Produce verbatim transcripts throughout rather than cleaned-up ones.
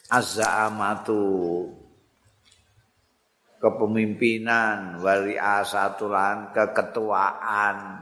az-za'amatu kepemimpinan wali asatulan keketuaan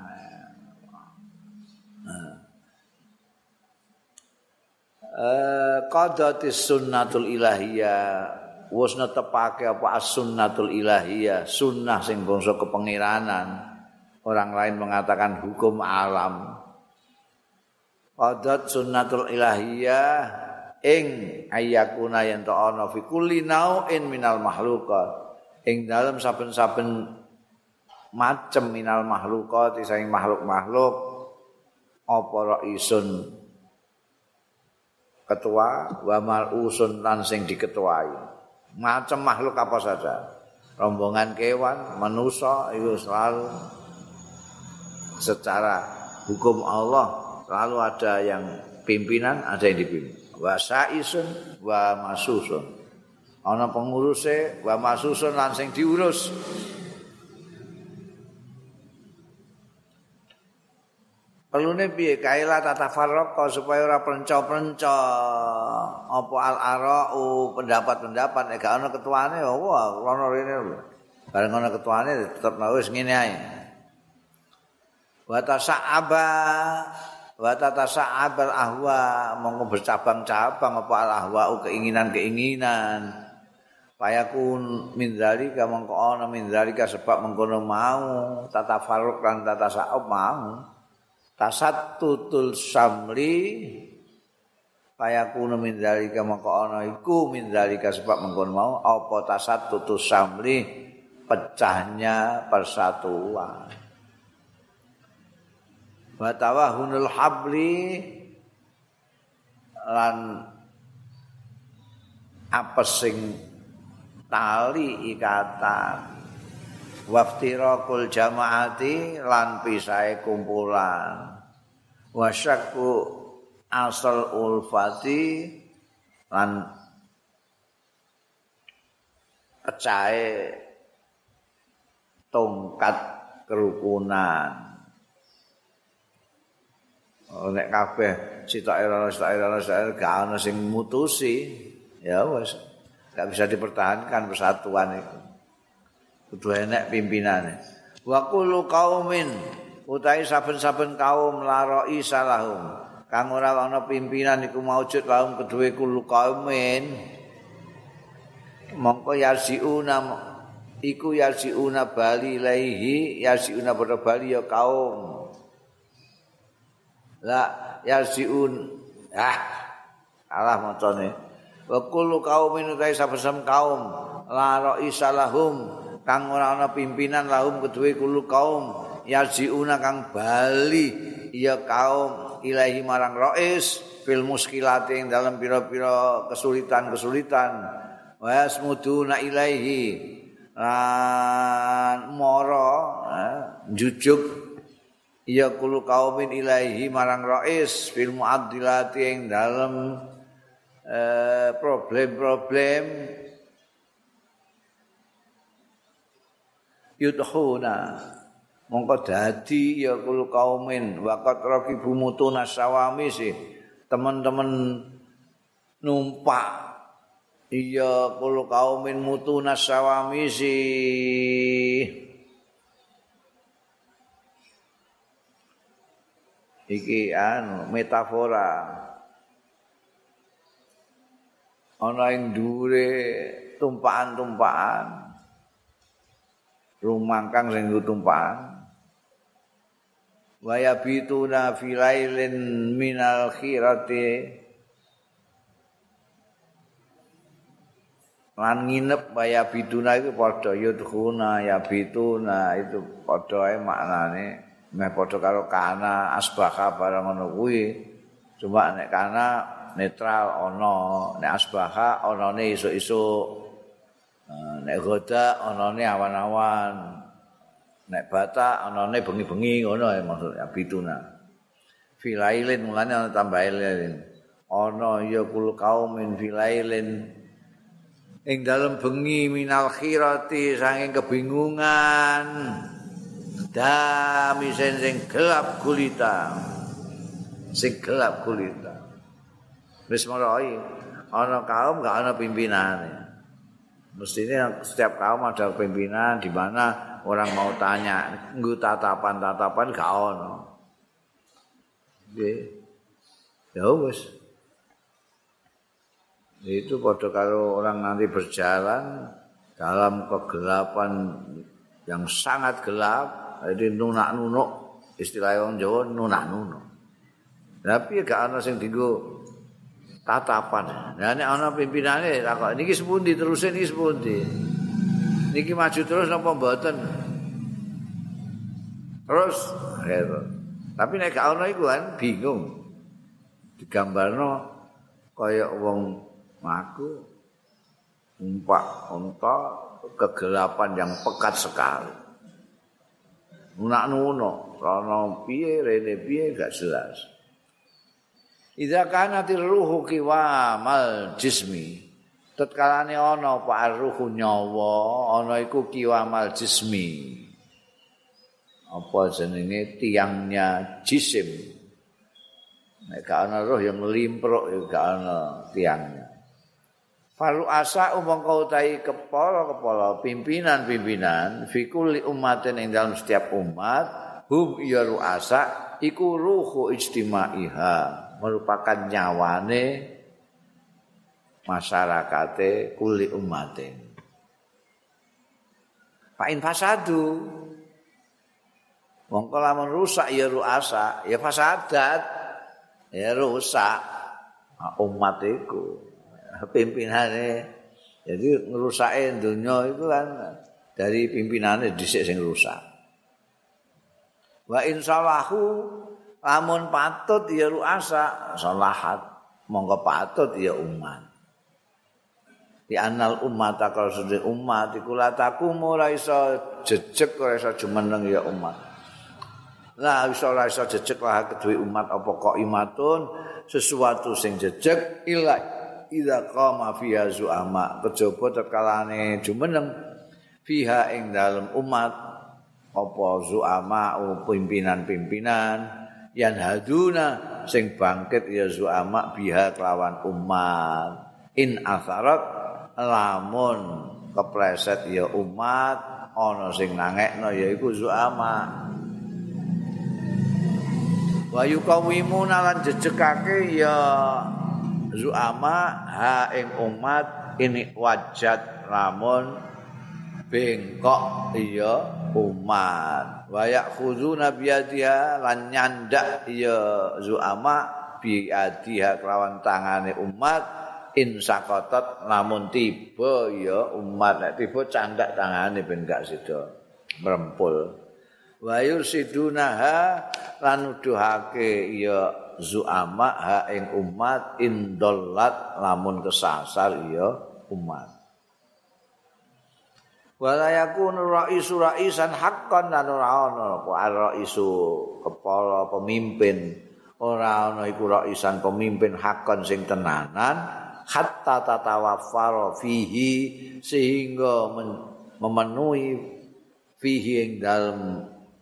eh qadatis sunnatul ilahiyah wis netepake apa as-sunnatul ilahiyah sunnah sing bangsa kepengiranan orang lain mengatakan hukum alam qadat sunnatul ilahiyah ing ayakuna yen ana fi kulli nau'in minal makhluqat ing dalem saben-saben macem minal makhluqat saing makhluk-makhluk apa raisun ketua wa mal'usun lan sing diketuai macam makhluk apa saja rombongan kewan manusia itu selalu secara hukum Allah selalu ada yang pimpinan ada yang dipimpin wa sa'isun wa masusun ana penguruse wa masusun lan sing diurus perlune piye kaila tatafarraq supaya ora prenca-prenca apa al-ara'u pendapat-pendapat nek gak ana ketuane ya wah ana rene lho bareng ana ketuane tetep wis ngene ae wa tasa'aba wa tatasa'abal ahwa monggo bercabang-cabang apa al-ahwa'u keinginan-keinginan payakun min dzalika mongko ana min dzalika sebab mengkono mau tatafarruq lan tatasa'ab mau tasattutul samli payakun min dzalika mongko ana iku min dzalika sebab mengkono mau apa tasattutus samli pecahnya persatuan wa tawahunul habli lan apesing tali ikatan waftirakul jamaati lan pisahe kumpulan wasyakku asal ulfati lan pecahe tongkat kerukunan nek kabeh sitoke ora sitoke ora gak ana sing mutusi ya wis gak bisa dipertahankan persatuan itu kudu enek pimpinane wa kullu qaumin utahe saben-saben kaum laroi salahum kang ora ana pimpinan iku maujud lahum kedue kullu qaumin mongko yarsiuna iku yarsiuna bali laihi yarsiuna padha bali ya kaum la yarsiun ah alah macane wa kullu qaumin utahe saben kaum la ra'isa lahum kang ora ana pimpinan lahum kedue kullu kaum yarjiuna kang bali ya kaum ilahi marang rais fil muskilati ing dalam pira-pira kesulitan-kesulitan wa yasmuduna ilaihi lan mara jujuk ya kullu kaumin ilaihi marang rais fil muaddilati ing dalam eh, problem-problem yudhuna mongko dadi ya kullu kaumin waqat raqibu mutuna sawami sih teman-teman numpak iya kullu kaumin mutuna sawami sih iki anu metafora ana ing dhuwure tumpakan-tumpakan rumangkang sing tumpakan wa yabituna fi lailin minal khirati lan nginep wa yabituna iku padha yudkhuna yabituna itu padha ae maknane meh padha karo kana asbaha barang ngono kuwi cuma nek kana netral ana nek asbaha anane isuk-isuk nek goda anane awan-awan nek bata anane bengi-bengi ngono maksud abituna filailin mulane ana tambahin ana ya kul kaumin filailin ing dalem bengi minal khirati saking kebingungan dami sing gelap gulita sing gelap gulita wis marai ana kaum gak ana pimpinane. Mestinya setiap kaum ada pimpinan di mana orang mau tanya, nggo tatapan-tatapan gak ana. Nggih. Ya wis. Itu padha karo orang nanti berjalan dalam kegelapan yang sangat gelap, jadi nunak-nunuk, istilah wong Jawa nunak-nunuk. Tapi gak ana sing dienggo tatapan. Nah nek ana pimpinane takok niki sepundi terus niki sepundi. Niki maju terus napa mboten? Terus gitu. Tapi nek gak ana iku kan bingung. Digambarno kaya wong mlaku numpak unta kegelapan yang pekat sekali. Nunak-nunuk, rono piye rene piye gak jelas. Idza kanatir ruhu kiwamal jismi. Tatkalane ana apa ruhu nyawa, ana iku kiwamal jismi. Apa jenenge tiangnya jisim. Nek gak ana roh yang limpruk ya gak ana tiangnya. Falu asa umangka utahi kepala-kepala pimpinan-pimpinan fi kulli ummatin ing dalam setiap umat hum ya ruasa iku ruhu ijtimaiha merupakan nyawane masyarakate kulli ummatin. Fa in fasadu mongko lamun rusak ya ruasa ya fasadat ya rusak umat iku. Pimpinane jadi ngerusake dunia itu kan dari pimpinane dhisik sing rusak. Wa insalahu lamun patut ya ruasa salahat monggo patut ya umat. Di anal umat kalau sudah umat iku lataku ora iso jejeg ora iso jumeneng ya umat. Lah iso ora iso jejeg lah kedue umat apa kok imatun sesuatu sing jejeg ila idza qama fiha zu'ama kejaba tekalane jumeneng fiha ing dalem umat apa zu'ama pimpinan-pimpinan yan haduna sing bangkit ya zu'ama biha kelawan umat in atharat lamun kepleset ya umat ana sing nangekno yaiku zu'ama wa yuqawimuna lan jejegake ya zu'ama ha ing umat ini wajat lamun bengkok iya umat wa yakhuzuna biyadiha lan nyandak ya zu'ama biadiha kelawan tangane umat in sakotot lamun tiba ya umat nek tiba candak tangane ben gak sida merempul wa yursidunaha lan nuduhake ya zu'ama ha ing umat indollat lamun kesasar ya umat wala yakunu raisu raisan haqqan lan ora ana apa raisu kepala pemimpin ora ana iku raisan pemimpin haqqan sing tenanan hatta tatawaffara fihi sehingga memenuhi fihi ing dalem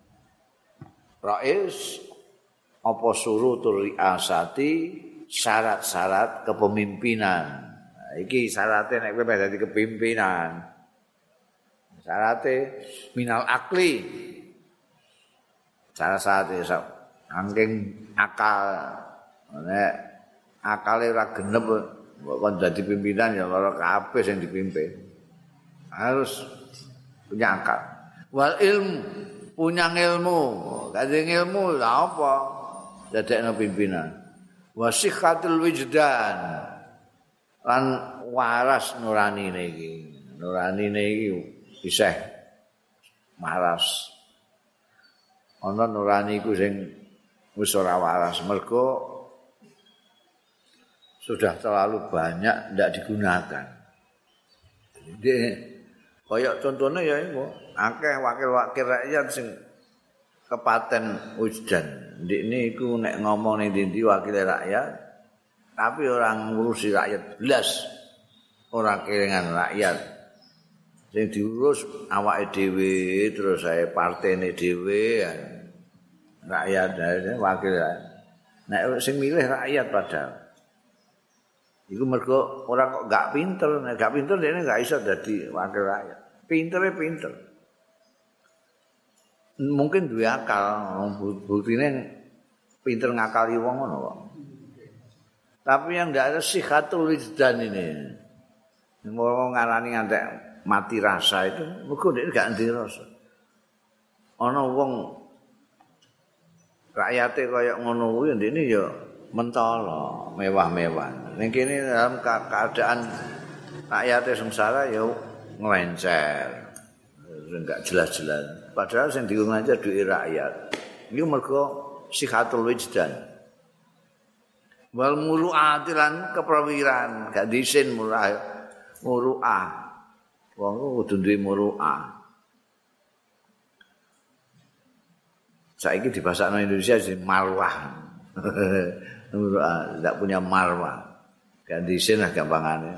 rais apa surutul riasati syarat-syarat kepemimpinan. Nah, iki syaratnya nek kowe dadi kepimpinan. Syaratnya minal akli. Syarat-syaratnya saking akal. Nek akale ora genep kok dadi pimpinan ya lara kabeh sing dipimpin. Harus punya akal. Wal ilmu, punya ilmu. Kadang ilmu lha apa? Dadekno pimpinan. Wasihhatul wijdan. Lan waras nuranine iki. Nuranine iki isih waras. Ana nurani iku sing wis ora waras mergo sudah terlalu banyak ndak digunakan. Jadi kaya contohnya ya iku akeh wakil-wakil rakyat sing kepaten wijdan. Ndikne iku nek ngomong ning ndi wakil rakyat tapi orang ngurusi rakyat belas. Ora kelingan rakyat. Sing diurus awake dhewe terus saya partene dhewe rakyat wakil rakyat. Nek sing milih rakyat padahal. Iku mergo ora kok gak pinter, nek gak pinter dene gak iso dadi wakil rakyat. Pintere pinter. Mungkin duwe akal, buktine pinter ngakali wong ngono kok. Tapi yang ndak ada sihatul wijdan ini. Wong ngarani ngantek mati rasa itu, mergo dhek gak ndek rasa. Ana wong rakyate kaya ngono kuwi ndekne ya mentolo, mewah-mewah. Ning kene dalam keadaan rakyate sengsara ya nglencer. Enggak jelas-jelas. Padahal sing diung aja duit rakyat. Iku mergo sihatul wijdan. Wal muru'atilan keprawiran, gak disin murah muru'ah. Wong kudu duwe muru'ah. Saiki di bahasa Indonesia jadi marwah. Muru'ah, tidak punya marwah. Gak disin lah gampangannya.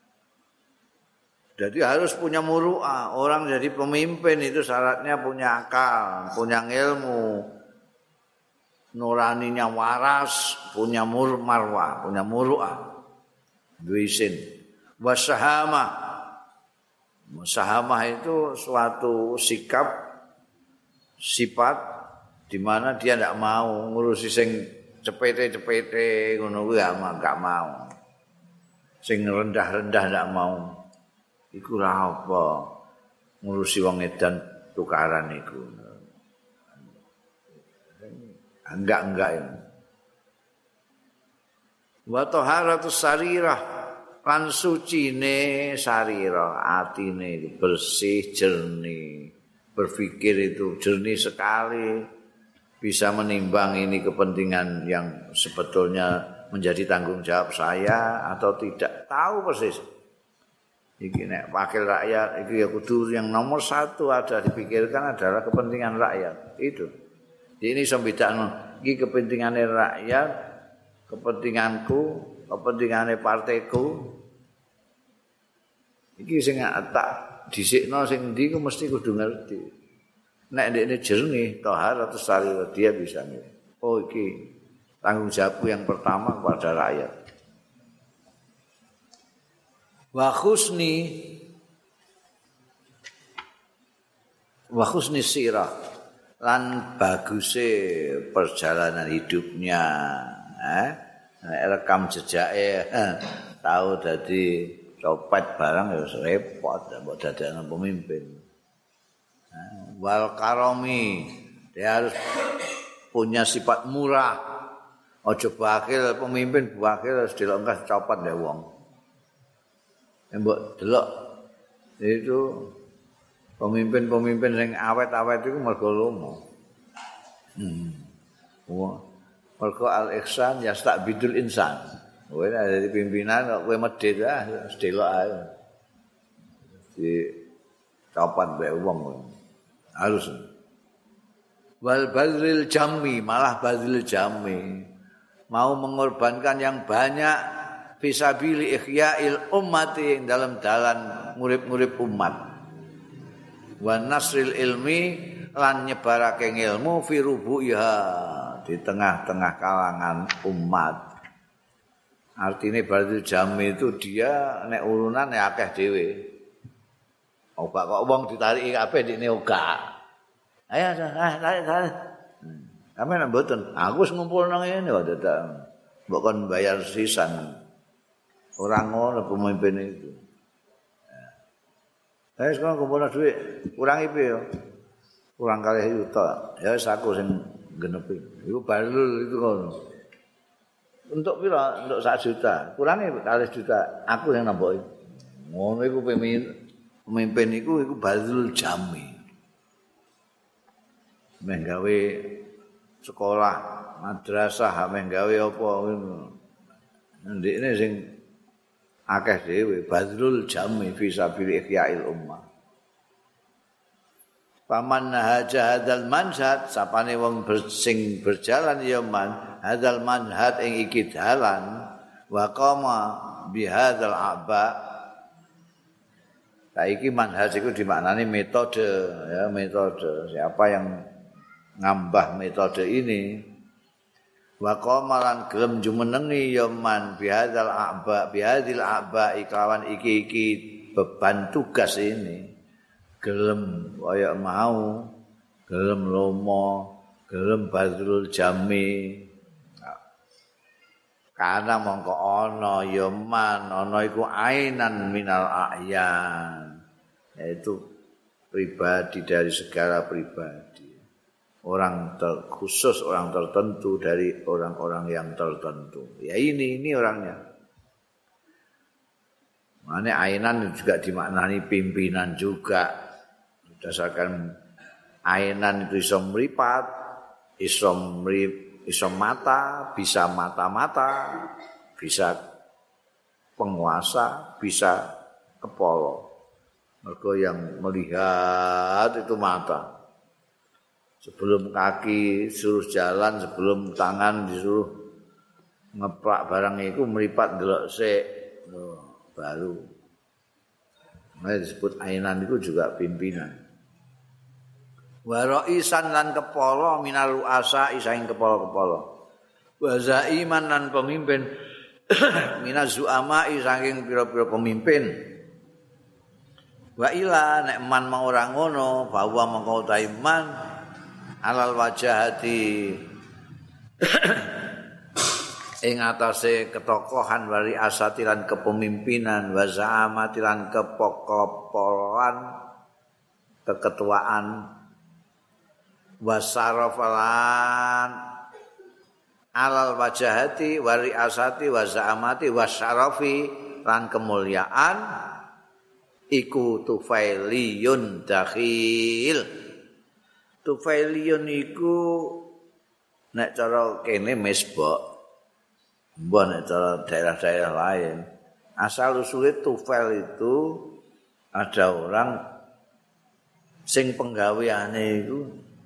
Jadi harus punya muru'ah. Orang jadi pemimpin itu syaratnya punya akal, punya ilmu. Nuraninya waras, punya mur marwah, punya muru'ah. Duisin. Wasahamah. Wasahamah itu suatu sikap, sifat di mana dia tidak mau ngurusi sing cepete-cepete ngono kuwi gak mau. Sing rendah-rendah ndak mau. Iku ora apa ngurusi wong edan tukaran iku. Enggak-enggak ya. Wa taharatus sarirah lan sucine sarira, atine itu bersih, jernih. Berpikir itu jernih sekali, bisa menimbang ini kepentingan yang sebetulnya menjadi tanggung jawab saya atau tidak, tahu persis. Iki nek wakil rakyat iki ya kudu yang nomor satu ada dipikirkan adalah kepentingan rakyat. Itu. Jadi ini sembedakno iki kepentingane rakyat, kepentinganku, kepentingane partaiku. Iki sing tak dhisikno sing ndi ku mesti kudu ngerti. Nek ndekne jernih, tahar atau sari dia bisa ngerti. Oh iki tanggung jawabku yang pertama kepada rakyat. Wa khusni wa khusni sirah lan baguse perjalanan hidupnya, eh rekam jejake eh, tahu dadi copet barang ya repot mbok dadekno pemimpin. Eh, wal karomi dia harus punya sifat murah. Ojo bakil pemimpin bakil harus dilongkas copet ya wong. Mbok delok itu pemimpin-pemimpin sing awet-awet iku mergo lomo. Hmm. Wah, mergo al-ihsan yasta'bidul insan. Kowe nek dadi pimpinan kok kowe medhit ah delok ae. Di copat bae wong. Harus. Wal badril jammi, malah badril jammi. Mau mengorbankan yang banyak fisabili ihya'il ummati dalam dalan ngurip-ngurip umat. Wa nasril ilmi lan nyebarake ilmu fi rubu'iha di tengah-tengah kalangan umat. Artinya badril jammi itu dia nek urunan nek akeh dhewe. Ora kok wong ditariki kabeh ndekne ora. Ayo tarik tarik. Sampe nek mboten, aku wis ngumpulno ngene kok dadak. Mbok kon bayar sisan. Orang ngono pemimpin itu. Eh sekarang kumpulno dhuwit, kurang I P ya. Kurang kalih yuta. Ya wis aku sing genepi. Iku balul itu ngono. Untuk pira? Untuk satu juta. Kurange kalih juta. Aku yang nambahi. Ngono iku pemimpin pemimpin iku iku balul jami. Meh gawe sekolah, madrasah, meh gawe apa ngono. Ndekne sing akeh dhewe badrul jami fi sabil ihya'il ummah. Paman haja hadzal manhaj sapane wong bersing berjalan ya man hadzal manhaj ing iki dalan wa qama bi hadzal aba. Saiki manhaj iku dimaknani metode ya metode. Siapa yang ngambah metode ini wa qamalan gelem jumenengi ya man bihadzal a'ba bihadzil a'ba iklawan iki-iki beban tugas ini gelem kaya mau gelem lomo gelem badrul jami karena mongko ana ya man ana iku ainan minal a'yan yaitu pribadi dari segala pribadi orang ter, khusus orang tertentu dari orang-orang yang tertentu ya ini ini orangnya maknanya ainan juga dimaknani pimpinan juga berdasarkan ainan itu iso mripat iso mrip iso mata, bisa mata-mata, bisa penguasa, bisa kepala. Mergo yang melihat itu mata. Sebelum kaki suruh jalan, sebelum tangan disuruh ngeprak barang itu meripat delok sik. Oh, baru. Nah, disebut ainan itu juga pimpinan. Wa ra'isan lan kepala minal ru'asa isaing kepala-kepala. Wa zaiman lan pemimpin minaz zu'ama saking pira-pira pemimpin. Wa ila nek man mau ora ngono bahwa mengko taiman alal wajahati ing atase ketokohan wari asati lan kepemimpinan wa za'amati lan kepokopolan keketuaan wasarafalan alal wajahati wari asati wazaamati wasyarafi lan kemuliaan iku tufailiyun dakhil tufailiyun iku nek cara kene mesbok mbok nek cara daerah-daerah lain asal usulnya tufail itu ada orang sing penggaweane iku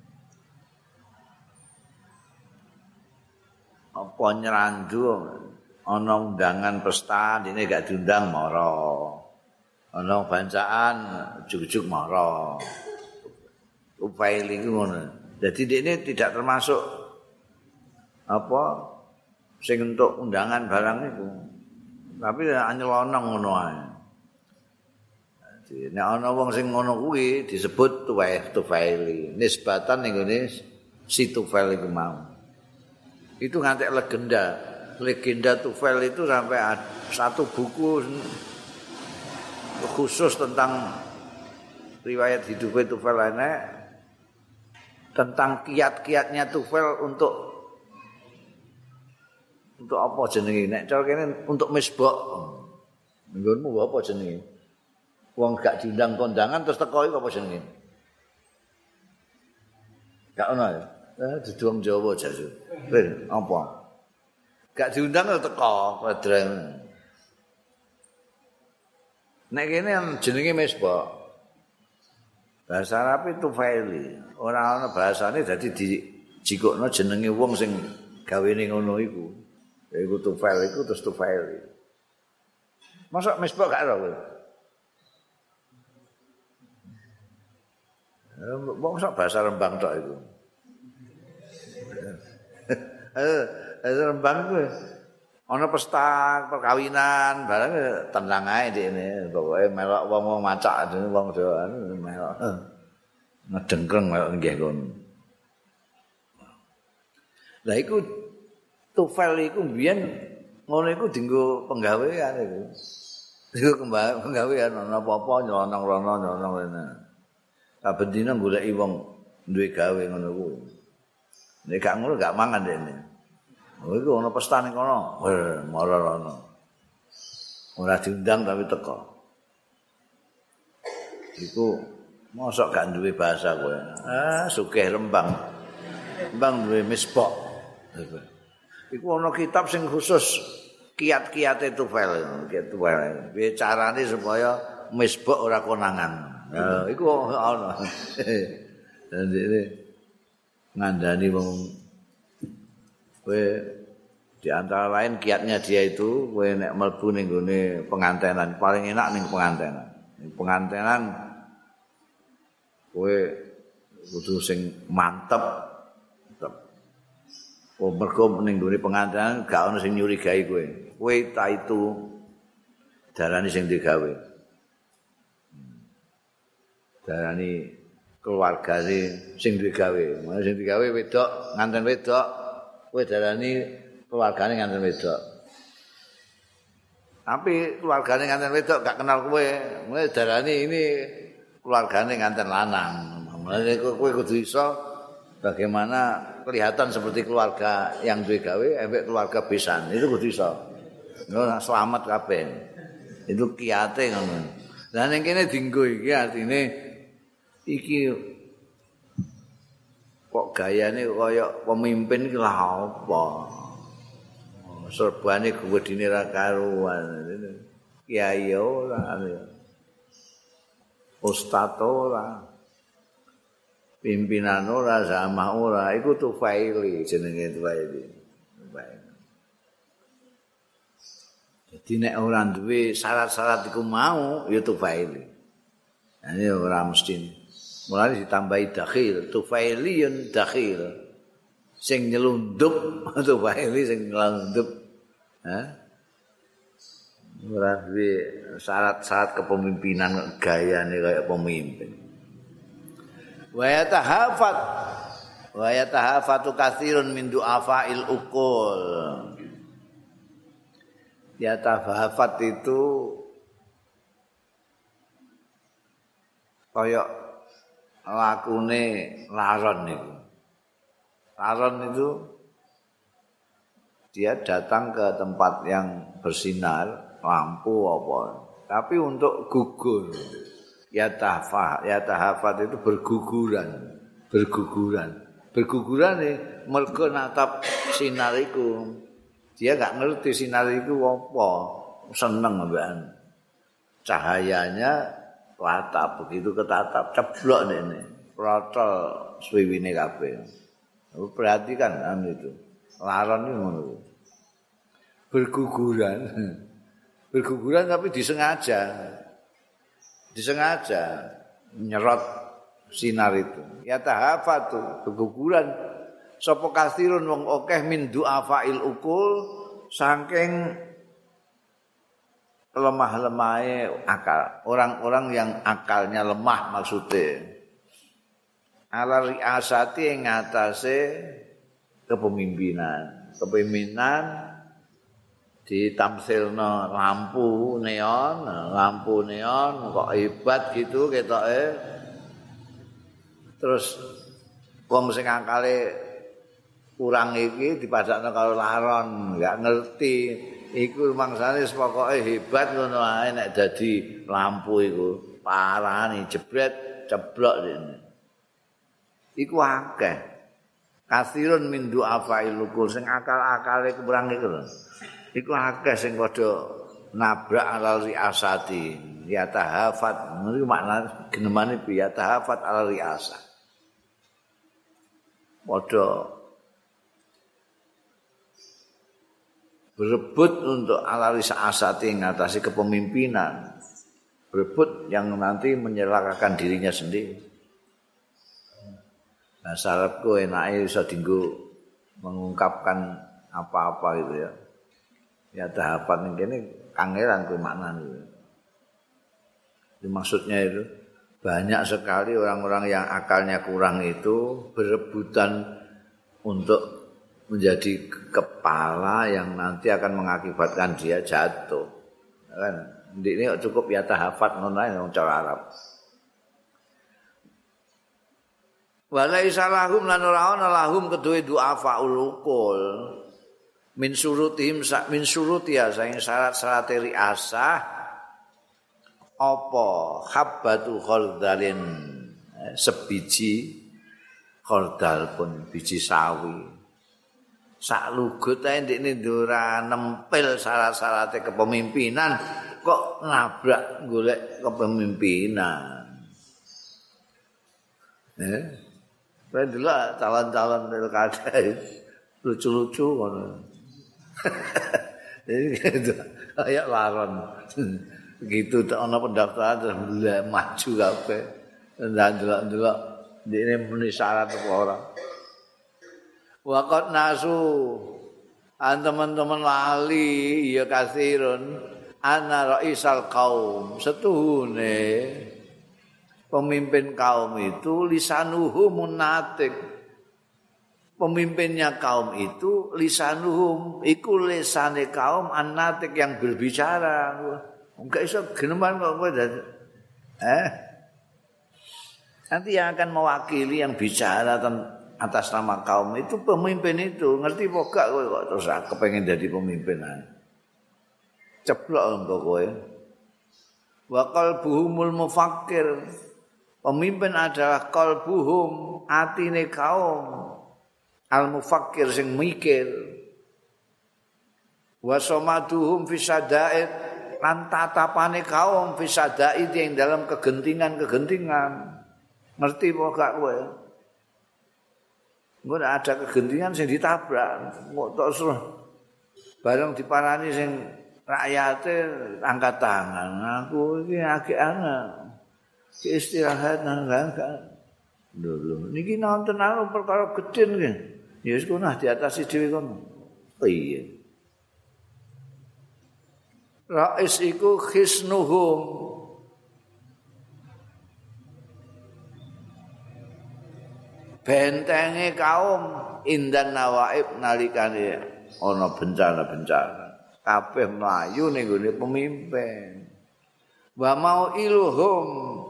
apa nyerandu ana undangan pesta dene gak diundang mara ana bancaan juk-juk mara upaili ngono dadi dekne tidak termasuk apa sing untuk undangan barang itu tapi anyelonong ngono ae dadi nek ana wong sing ngono kuwi disebut tufaili nisbatan ning ngene si tufail iku mau itu ngantek legenda legenda Tufail itu sampai ada satu buku khusus tentang riwayat hidupnya Tufail ini tentang kiat-kiatnya Tufail untuk untuk apa jenenge nek cara kene untuk misbok nggonmu apa jenenge wong gak diundang kondangan terus teko iku apa jenenge gak ono ya eh dudu Jawa jasu ben apa gak diundang teko padreng nek kene jenenge misbah bahasa Arab itu faili ora ana bahasane dadi dijikukno jenenge wong sing gawene ngono iku iku tufail iku terus tufaili masa misbah gak ora kowe wong sak bahasa Rembang tok iku Eh, Rembang kuwi ana pesta perkawinan barang tenang ae dene pokoke melok wong-wong macak dene wong doan melok ngedengkreng melok nggih kono. Lah iku Tufail iku mbiyen ngono iku dienggo penggawean iku. Dienggo penggawean ana apa-apa nyelonong-rono nyelonong rene. Saben dina goleki wong duwe gawe ngono kuwi. Nek gak ngono gak mangan dene. Oh iku ana pesta ning kono. Weh, mara rono. Ora diundang tapi teko. Iku mosok gak duwe bahasa kowe. Ah, sugih Rembang. Rembang duwe misbok. Iku ana kitab sing khusus kiat-kiate Tufail, kiat Tufail. Piye carane supaya misbok ora konangan. Nah, iku ana. Dan ini ngandani wong kowe di antara lain kiatnya dia itu kowe nek mlebu ning gone pengantenan paling enak ning pengantenan. Ning pengantenan kowe kudu sing mantep. Oh, mergo ning nggone pengantinan gak ono sing nyurigai kowe. Kowe ta itu darani sing digawe. Darani keluargane sing digawe. Mana sing digawe wedok, nganten wedok, kowe darani keluargane nganten wedok. Tapi keluargane nganten wedok gak kenal kowe. Kowe darani ini keluargane nganten lanang. Mulane kowe kudu iso bagaimana kelihatan seperti keluarga yang duwe gawe ambek keluarga besan. Itu kudu iso. Ngono selamat kabeh. Itu kiate ngono. Lah ning kene dienggo iki artine iki kok gayane kaya pemimpin iki lah apa. Serbane gedine ra karuan. Kiai ora. Ustaz ora. Pimpinan ora, sama ora, iku tufaili jenenge tufaili. Jadi nek ora duwe syarat-syarat iku mau ya tufaili. Ini ora mesti. Mulane ditambahi dakhil, tufailiyun dakhil. Sing nyelundup, tufaili sing nyelundup. Hah? Ora duwe syarat-syarat kepemimpinan gayane kaya pemimpin. Wa yatahafat wa yatahafatu katsirun min du'afa'il uqul. Yatahafat itu kaya lakune laron itu. Laron itu dia datang ke tempat yang bersinar, lampu apa, tapi untuk gugur. Yatahafat, yatahafat itu berguguran, berguguran, berguguran nih, mergo natap sinar iku. Dia gak ngerti sinar iku apa, seneng mbekan. Cahayanya tatap, begitu ketatap ceblok ini, protol swiwine kabeh. Perhatikan kan itu, laron itu ngono. Berguguran, berguguran tapi disengaja. Disengaja nyerot sinar itu. Ya tahafatu keguguran sapa kasirun wong akeh min du'afail ukul saking lemah-lemahe akal. Orang-orang yang akalnya lemah maksudnya. Ala riasati ing ngatasé kepemimpinan. Kepemimpinan ditamsilno lampu neon, lampu neon kok hebat gitu ketoke. Terus wong sing akale kurang iki dipadakno karo laron, enggak ngerti. Iku mangsane pokoke hebat ngono ae nek dadi lampu iku. Parani jebret ceblok dene. Iku akeh. Kasirun min du'afail ukul sing akal-akale kurang iku lho. Iku akeh sing padha nabrak alal riasati ya tahafat niku makna genemane bi ya tahafat alal riasa padha berebut untuk alal riasati ngatasi kepemimpinan, berebut yang nanti menyelakakan dirinya sendiri. Nah syaratku enake iso dienggo mengungkapkan apa-apa gitu ya. Ya tahapan ini kangeran ku maknane. Maksudnya itu banyak sekali orang-orang yang akalnya kurang itu berebutan untuk menjadi kepala yang nanti akan mengakibatkan dia jatuh. Kan ini cukup ya tahafat ngono ae cara Arab. Walaisa lahum lan ora ana lahum kedue du'afaul uqul. Min surutihim min surutia saing syarat-syarat riasah apa habbatu khaldalin sebiji khaldal pun biji sawi sak lugut ae ndekne ora nempel syarat-syarate kepemimpinan kok nabrak golek kepemimpinan. Eh padahal calon-calon pilkada lucu-lucu ngono. Jadi gitu, kayak laron. Begitu ana pendaftaran terus maju kabeh. Ndelok-ndelok ini muni syarat apa ora. Waqat nasu an teman-teman lali ya kasirun ana raisal kaum setuhune pemimpin kaum itu lisanuhum munatik. Pemimpinnya kaum itu lisanuhum iku lisane kaum anatik yang berbicara. Enggak iso geneman kok kowe eh nanti yang akan mewakili yang bicara tentang atas nama kaum itu pemimpin itu ngerti apa gak kowe kok terus kepengen jadi pemimpin ceplok engko kowe wa qalbuhumul mufakkir pemimpin adalah qalbuhum atine kaum al mufakkir sing mikir wa samaduhum fi sadaid lan tatapane kaum fi sadaid yang dalam kegentingan-kegentingan ngerti apa gak kowe. Engko ada kegentingan sing ditabrak, kok tok suruh bareng diparani sing rakyate angkat tangan. Aku iki agek ana. Ki istirahat nang gak. Lho, niki nonton anu perkara gedhe nggih. Ya wis kono diatasi dhewe kono. Oh iya. Rais iku khisnuhum bentenge kaum indan nawaib nalikane ana bencana-bencana kabeh mlayu ning gone pemimpin wa mau ilhum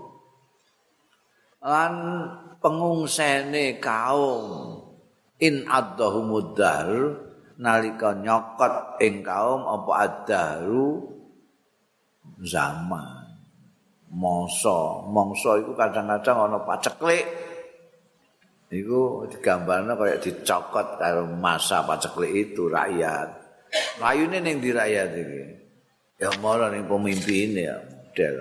lan pengungsene kaum in addahumuddar nalika nyokot ing kaum apa addaru zaman mangsa mangsa iku kadang-kadang ana paceklik. Iku digambarno kaya dicokot karo masa paceklik itu rakyat. Layune ning ndi rakyat iki? Ya mara ning pemimpine ya model.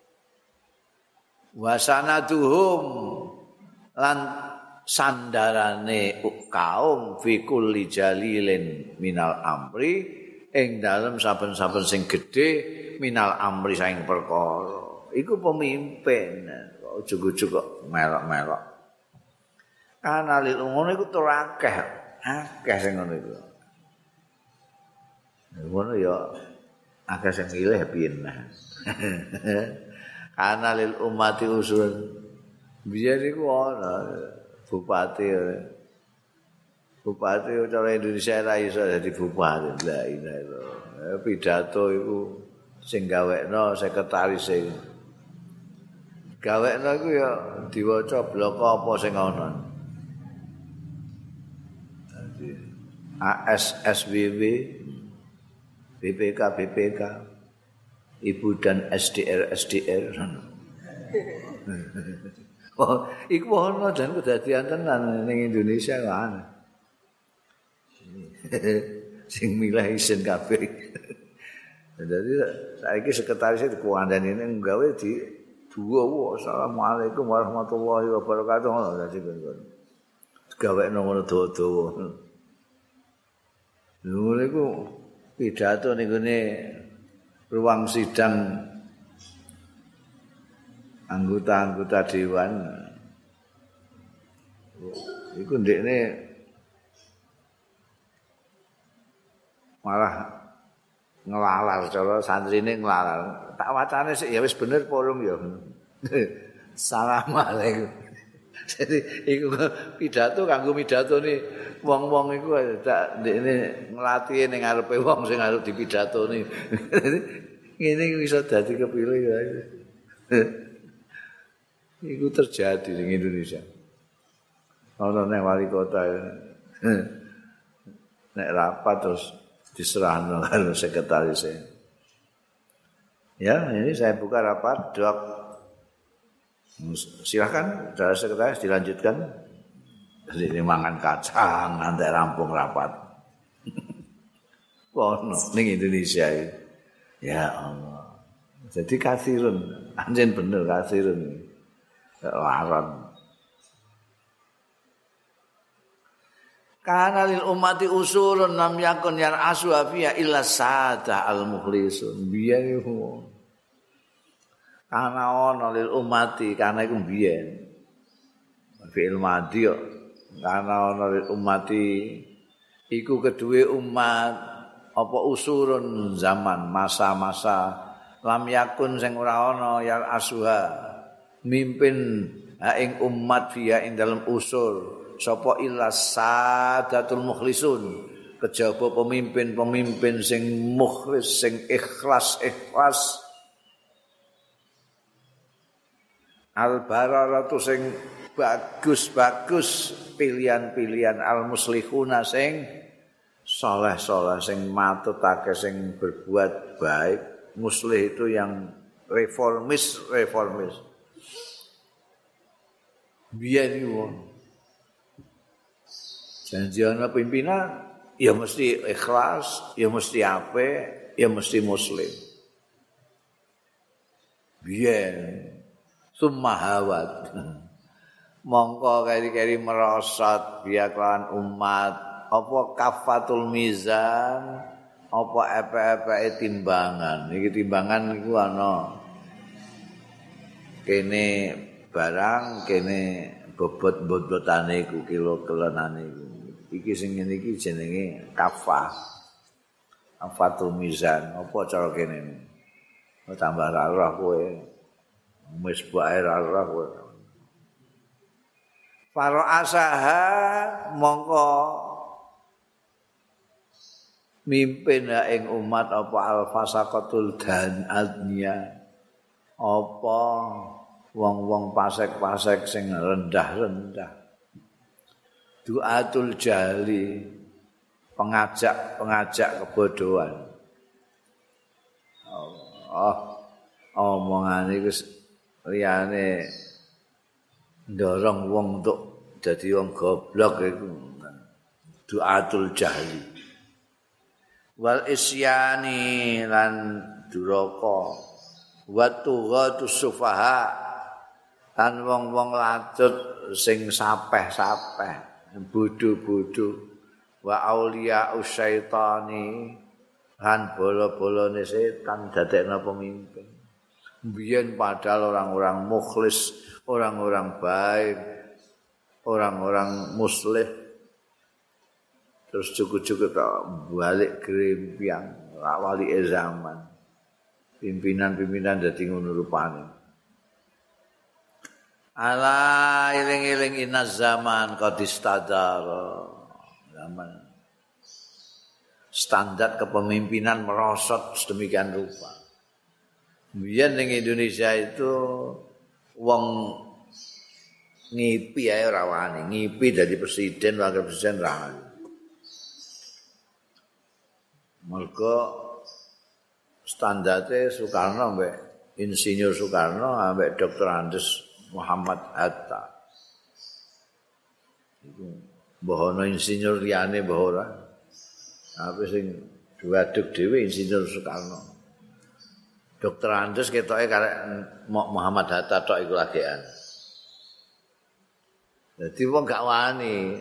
Wasanaduhum lan sandarane kaum fi kulli jalilin minal amri ing dalem saben-saben sing gedhe minal amri saing perkara. Iku pemimpin. Ujug-ujug kok melok-melok. Ana lil ngono iku tur akeh, akeh sing ngono iku. Ngono ya akeh sing milih piye. Ana lil ummati usul. Biyen iku ana bupati. Bupati cara Indonesia ra iso dadi bupati. La ilaha illallah. Pidato iku sing gawekno sekretaris sing gawekno iku ya diwaca bloko apa sing ana. A S S W W, B P K B P K, Ibu dan S D R S D R. Oh, iku ono jan kedadian tenan ning Indonesia kan. Sing milih isin kabeh. Dadi saiki sekretaris dikuandani ning gawe di duwa. Assalamualaikum warahmatullahi wabarakatuh. Dadi gawekno ngono dawa-dawa. Lho niku pidato ning gone ruang sidang anggota-anggota dewan. Iku ndekne malah ngelalar cara santrine ngelalar. Tak wacane sik ya wis bener porong ya. Assalamualaikum. Jadi iku pidato kanggo pidatone wong-wong iku tak ndekne nglatih ning ngarepe wong sing arep dipidatoni. Ngene iki iso dadi kepilih ya. Iku terjadi di Indonesia. Ana ning wali kota nek rapat terus diserahno karo sekretaris. Ya, ini saya buka rapat, dok. Silakan, saudara sekretaris dilanjutkan. Ini mangan kacang, nanti rampung rapat. Kono ning Indonesia ini. Ya Allah. Jadi kasirun, anjen bener kasirun. Laran. Kana lil ummati usulun lam yakun yar aswafiya illa sada al mukhlisun. Biyen iku. Kana ana lil ummati kana iku biyen. Fi'il madhi Karena ana umati iku kedue umat apa usurun zaman masa-masa lam yakun sing ora ana ya asuha mimpin ha ing umat via ing dalam usur sapa illa sadatul mukhlisun kejaba pemimpin-pemimpin sing mukhlis sing ikhlas-ikhlas al bararatu sing bagus-bagus pilihan-pilihan al muslihuna sing saleh-saleh sing matutake sing berbuat baik. Muslih itu yang reformis reformis biyen iku janji ana pimpinan ya mesti ikhlas ya mesti apik ya mesti muslim biyen sumahawat mongko keri-keri merosot biaklan umat apa kafatul mizan apa epe-epeke timbangan iki timbangan iku ana kene barang kene bobot-bobotane iku kilo-kilonane iku iki sing ngene iki jenenge kafah kafatul mizan apa cara kene tambah roh kowe wis bae roh kowe Faro asaha mongko mimpin ing umat apa alfasaqatul dan adnya apa wong-wong pasek-pasek sing rendah-rendah duatul jali pengajak-pengajak kebodohan oh omongane iku liyane ndorong wong untuk dadi wong goblok iku duatul jahli wal isyani lan duraka wa tughatus sufaha lan wong-wong lacut sing sapeh-sapeh bodho-bodho wa auliya usyaitani lan bola-bolane setan dadekna pemimpin biyen padahal orang-orang mukhlis orang-orang baik orang-orang muslih terus cukup-cukup balik grempiang wali zaman pimpinan-pimpinan dadi ngono rupane ala iling-iling inaz zaman qad istadara zaman standar kepemimpinan merosot sedemikian rupa biyen ning Indonesia itu wong ngipi ae ora wani ngipi dadi presiden wakil presiden ra mergo standarte Soekarno mbek Insinyur Soekarno ambek Doktor Andes Muhammad Hatta iku mbah ana insinyur liyane mbah ora tapi sing duaduk dhewe Insinyur Soekarno Doktor Andes ketoke karek Muhammad Hatta tok iku lagean dadi wong gak wani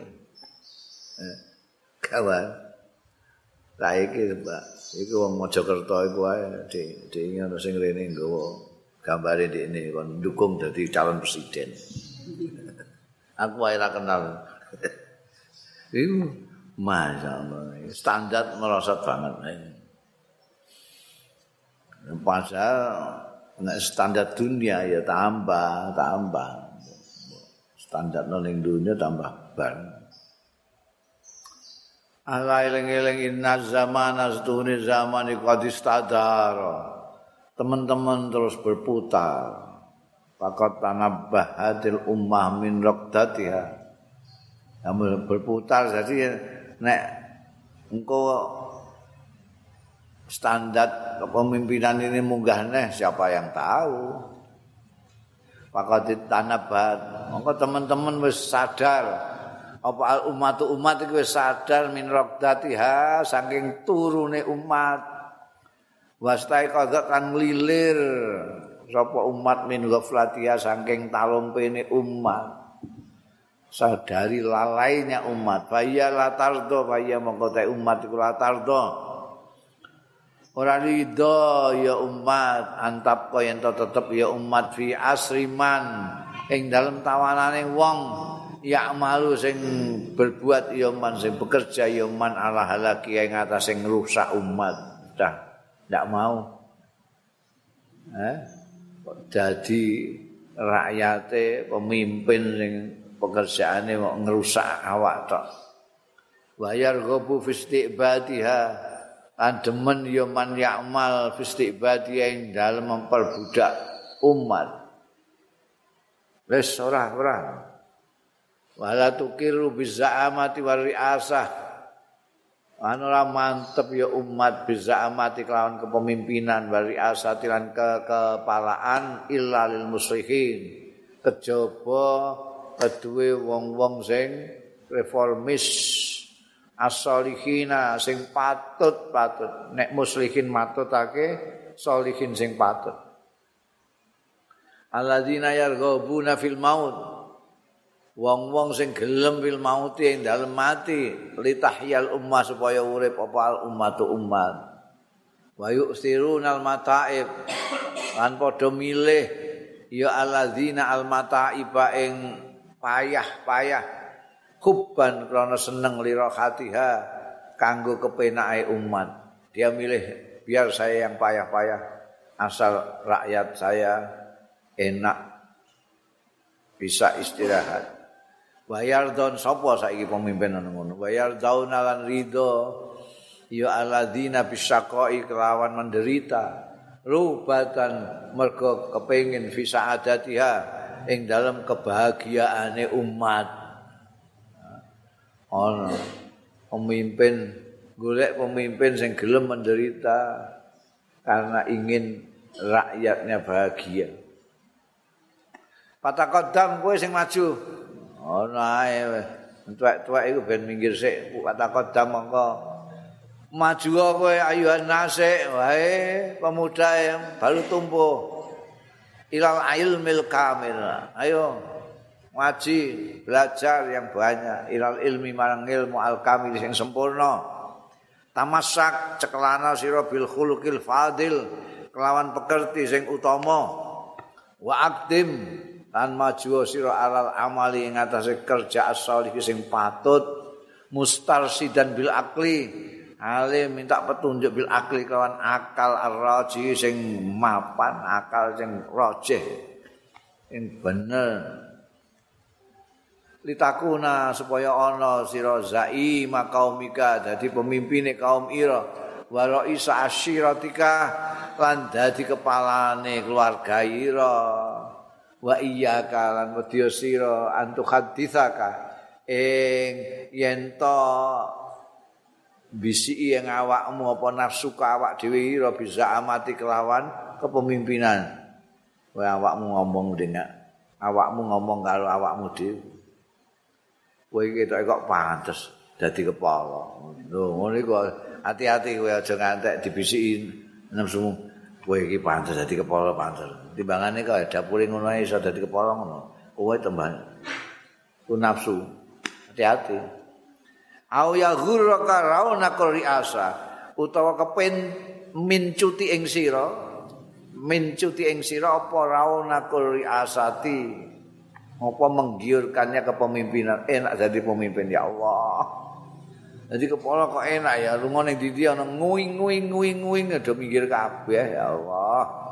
kawan saiki Mbak iku wong Mojokerto iku ae di di ngono sing rene nggawa gambare ndekne kon ndukung dadi calon presiden. Aku wae ra kenal. Iku masyaallah standar merosot banget. Padahal nek standar dunia ya tambah, tambah. Standar ning dunia tambah banget. Ala eling-eling inna zaman astune zaman iku adistadar. Teman-teman terus berputar. Faqat tanabbahatil ummah min raqdatiha. Namun berputar jadi nek engko standar kepemimpinan ini munggah neh siapa yang tahu. Faqat tanabbahat. Mongko teman-teman wis sadar apa al ummatu umat iku wis sadar min raqdatiha saking turune umat wastai qadha kan nglilir sapa umat min ghaflatiha saking talumpene umat sadari lalainya umat faya latardo faya mongko te umat iku latardo ora ridho ya umat antap kaya ento tetep ya umat fi asriman ing dalem tawanane wong ya'malu sing berbuat ya man sing bekerja ya man ala halaki ing atase ngrusak umat. Dah ndak mau. Eh dadi rakyate pemimpin sing pekerjaane mau ngrusak awak tok. Bayar gobu fistiqbadiha lan demen ya man ya'mal fistiqbadiha ing dalem memperbudak umat. Wis ora ora. Wala tukiru bizaamati wa riasah. Anu ora mantep ya umat bizaamati kelawan kepemimpinan wa riasati lan kekepalaan illa lil muslihin. Kejaba keduwe wong-wong sing reformis as-solihina sing patut-patut. Nek muslihin matutake solihin sing patut. Alladzina yarghabuna fil maut. Wong-wong sing gelem fil maut ing dalem mati, litahyal ummah supaya urip apa al ummatu ummat. Wa yusirunal mata'ib. Lan padha milih ya alladzina al mata'iba ing payah-payah hubban krana seneng lirahatiha kanggo kepenake umat. Dia milih biar saya yang payah-payah asal rakyat saya enak bisa istirahat. Bayar don sapa saiki pemimpin ngono. Bayar dauna lan ridho ya alladzina bisyaqai kelawan menderita. Rubatan mergo kepengin visa adatiha ing dalam kebahagiaane umat. Ono pemimpin golek pemimpin sing gelem menderita karena ingin rakyatnya bahagia. Patakodam kowe sing maju. Ono ae tuwek-tuwek iku ben minggir sik. Patakodam mongko maju kowe ayuhan nasik wae pemuda yang baru tumbuh. Ilal ilmil kamil. Ayo ngaji, belajar yang banyak. Ilal ilmi marang ilmu al kamil sing sempurna. Tamasak cekelana sira bil khuluqil fadil kelawan pekerti sing utama. Wa akdim lan maju sira alal amali ing atase kerja as-shalih sing patut mustarsidan bil akli ale minta petunjuk bil akli kawan akal ar-raji sing mapan akal sing rajih sing bener litakuna supaya ana sira zaima qaumika dadi pemimpine kaum ira wa raisa asyiratika lan dadi kepalane keluarga ira wa iyyaka lan wedya sira antu haditsaka ing yen to bisi ing awakmu apa nafsuka awak dhewe ira bisa amati kelawan kepemimpinan kowe awakmu ngomong dengan awakmu ngomong karo awakmu dhewe kowe iki kok pantes dadi kepala lho ngono iku hati-hati kowe aja ngantek dibisiki nafsumu kowe iki pantes dadi kepala pantes timbangane kok dapure ngono ae iso dadi kepala ngono. Kowe tembang. Ku nafsu. Hati-hati. Au ya ghurraka rauna riasa utawa kepen mincuti ing sira, mincuti ing sira apa rauna riasati. Apa menggiurkannya kepemimpinan. Enak jadi pemimpin ya Allah. Jadi kepala kok enak ya lunga ning ndi ana nguing-nguing-nguing-nguing do minggir kabeh ya Allah.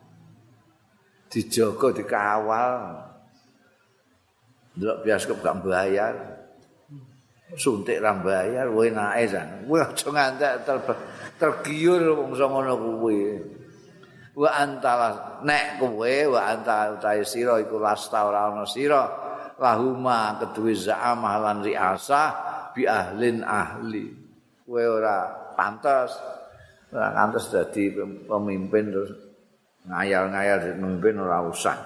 Dijaga dikawal ndelok bioskop gak bayar suntik ra bayar kowe enake jan kowe aja ngantek ter, tergiur wong ngono kuwi wa antala nek kowe wa anta utahe sira iku lasta ora ana sira lahuma keduwe za'amah lan riasah bi ahlin ahli kowe ora pantes ora pantes dadi pemimpin terus ngayal-ngayal memimpin ora usah.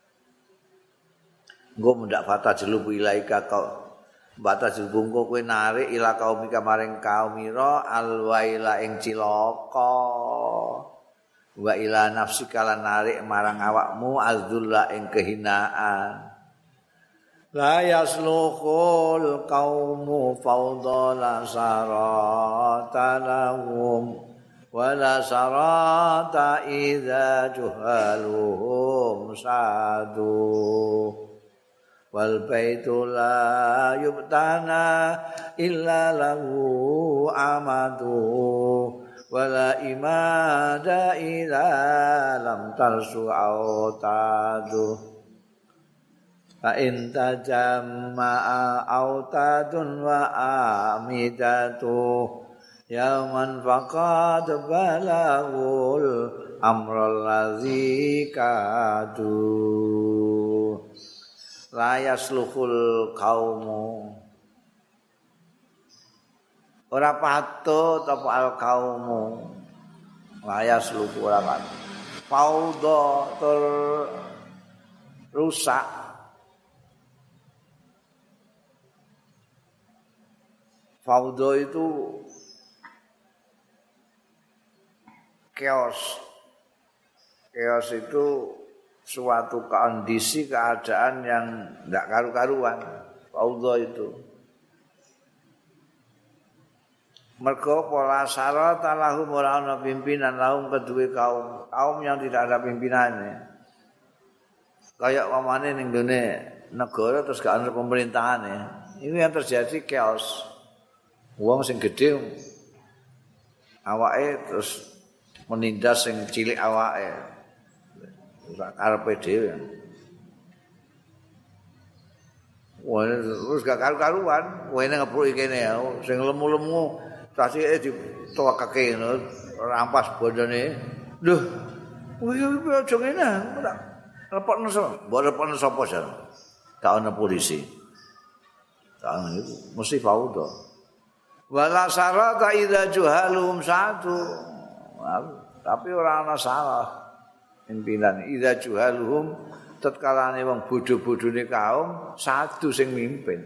Engko mendak fata jelu ilaika kau bata jebungko kowe narik ila kaumika maring kaum ira alwaila ing cilaka. Wa ila nafsika lan narik marang awakmu azzulla ing kehinaan. La yasluhul qaumu fawdala saratanahum wala sarata idza juhaluhum sadu wal baitu la yubtana illa lahu amadu wala imada ila lam tarsu autadu fa in tajamma'a autadun wa amidatu yaman faqad balagul amral ladzi kadu la yasluhul qaumu ora patut apa al qaumu la yasluhu ora patut faudha tur rusak faudha itu chaos chaos itu suatu kondisi keadaan yang tidak karu-karuan. Faudha itu. Mergo pola syarat lahum ora ana pimpinan lahum kedue kaum kaum yang tidak ada pimpinannya. Kayak pamane ning gone negara terus gak ana pemerintahane. Ini yang terjadi chaos. Wong sing gedhe awake terus menindas sing cilik awake. Ora karepe dhewe. Wah, terus gak karu-karuan, wene ngepruki kene ya, sing lemu-lemu tasike ditokake ngono, rampas bondone. Lho, kuwi aja ngene, ora repotno sapa? Mbok repotno sapa jan? Gak ana polisi. Gak ana itu, mesti faudha. Wala sarata idza juhalum satu. Tapi ora ana salah. Pimpinan idza juhaluhum tatkalane wong bodho-bodhone kaum satu sing mimpin.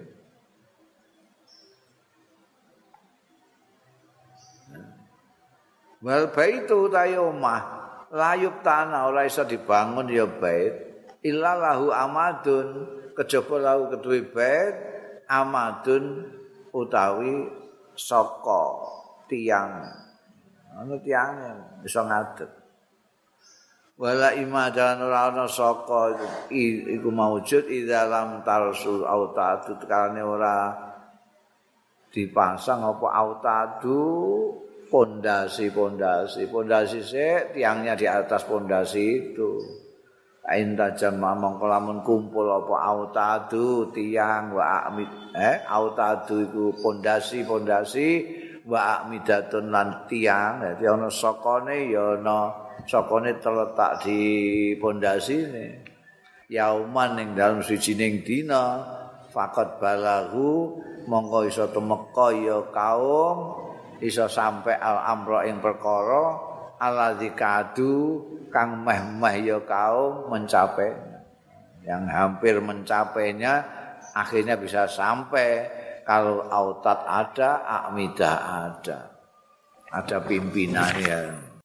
Wal baitu ta omah layub tanah ora iso dibangun ya bait illa lahu amadun kejaba lahu kedue bait amadun utawi saka tiang. Ana tiange iso ngadeg. Wala imadan ora ana saka iku maujud ida lam tarsul autadu karane ora dipasang apa autadu pondasi-pondasi pondasi sik tiangnya di atas pondasi itu ain tajam mongko lamun kumpul apa autadu tiang wa amid eh autadu iku pondasi-pondasi wa amidatun lan tiang dadi ana sakane ya ana sokone terletak di pondasine yauman ning dalem sijining dina faqat balagu mongko iso temeka ya kaum iso sampe al amra ing perkara alladzi kadu kang meh-meh ya kaum mencapai yang hampir mencapainya akhirnya bisa sampai kalau autat ada akmidah ada ada pimpinannya.